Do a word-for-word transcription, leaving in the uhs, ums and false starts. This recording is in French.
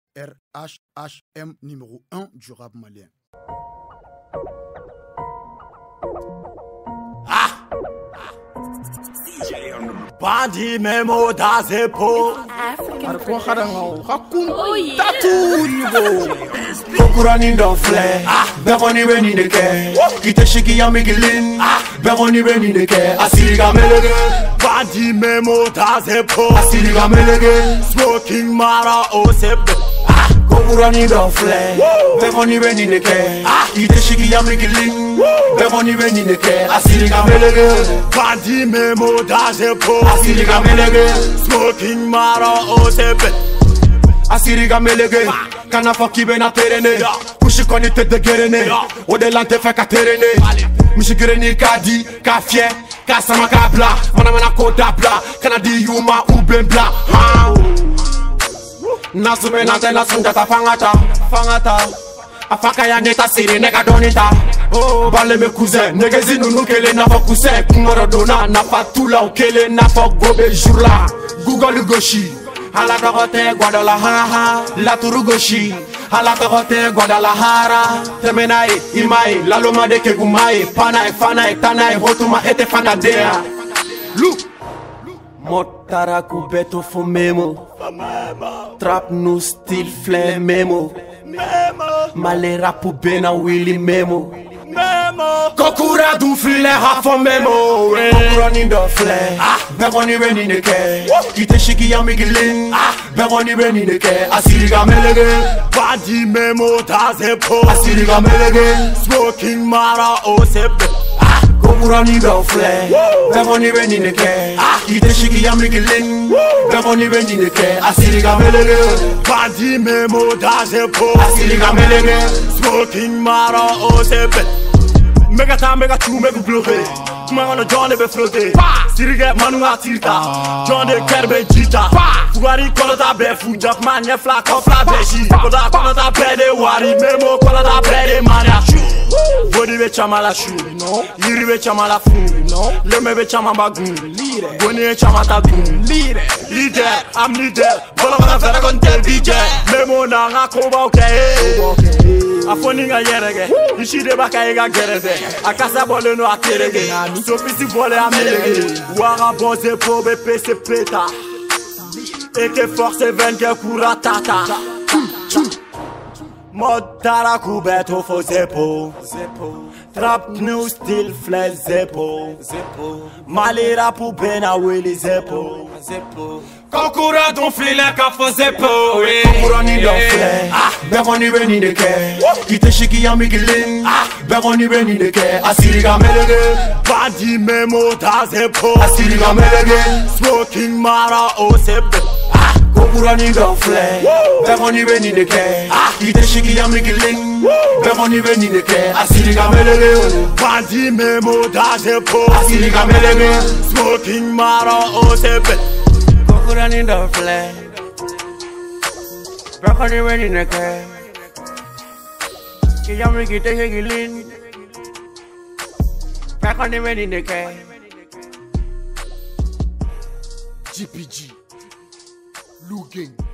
R H H M numéro un du rap malien. Bandi memo da zepo Arko khadango hakun tatu nibo Kokurani don fle Begoni weni deke Kite shiki ya migilin Begoni weni deke Asiri ga melege Bandi memo da zepo Asiri ga melege Smoking mara o sebe Kokurani don fle Begoni weni deke Kite shiki ya migilin Begoni weni deke Asiri ga melege Bandi memo da zepo Asiri ga melege Smoking mara o sebe Asiri ga melege Kana foki be na terene Kushi koni te de gerene Ode lante fe ka terene Mishi gerene ka di, ka fie Ka sama ka bla Mana mana koda bla Kana di yuma uben bla Nasume nante nasunjata fangata Fangata Afaka ya neta siri nega donita Oh bale me cousin Nege zinunu kele na fo cousin Kungoro dona na fatula ukele na fo gobe jurla Google goshi Hala tokote Guadalajara La turugoshi Hala tokote Guadalajara Temenae, imae, laloma de kegumae Panae, fanae, tanae, hotuma ete fanadea Look Motara kubeto fo memo Trap nu stil flame memo Malera pu bena willy memo Kokura du file hafo memo Kokurani do fle Begoni weni neke Kite shiki ya migilin Begoni weni neke Asiri ga melege Bandi memo da zepo Asiri ga melege Smoking mara o sebe Kokurani do fle Begoni weni neke Kite shiki ya migilin Begoni weni neke Asiri ga melege Bandi memo da zepo Asiri ga melege Smoking mara o sebe Mega time, mega true, mega bloqué. Kuma on a John be flotte. Sirige manu atirta. John de kerbe jita. Fugari kola ta be fujak man ye fla ko fla be shi. Kola kola ta be de wari memo kola ta be de mania. Body be chama la shu, no. Yiri be chama la fu, no. Leme be chama bagun, leader. Boni chama ta gun, leader. Leader, I'm leader. Bola bana fera kon tel D J. Memo na nga ko ba okay. Afoni nga yerege, ishide baka ega gereze. Akasa bole no aterege. So pisi bole amelege. Wara boze po be pese peta. Eke force venke kura tata. Modara kubeto fo zepo. Trap new still fle zepo. Malera pu bena willy zepo. Kokura don file ka fo zepo. Kokurani don fle Begoni weni deke Kite shiki ya migilin Begoni weni deke Asiri ga melege Bandi memo da zepo Asiri ga melege Smoking mara o sebe Kokurani don fle Begoni weni deke Kite shiki ya migilin Begoni weni deke Asiri ga melege Bandi memo da zepo Asiri ga melege Smoking mara o sebe Kokurani don fle Begoni weni deke Kiyamri kite hegilin Begoni weni deke G P G Lou Gang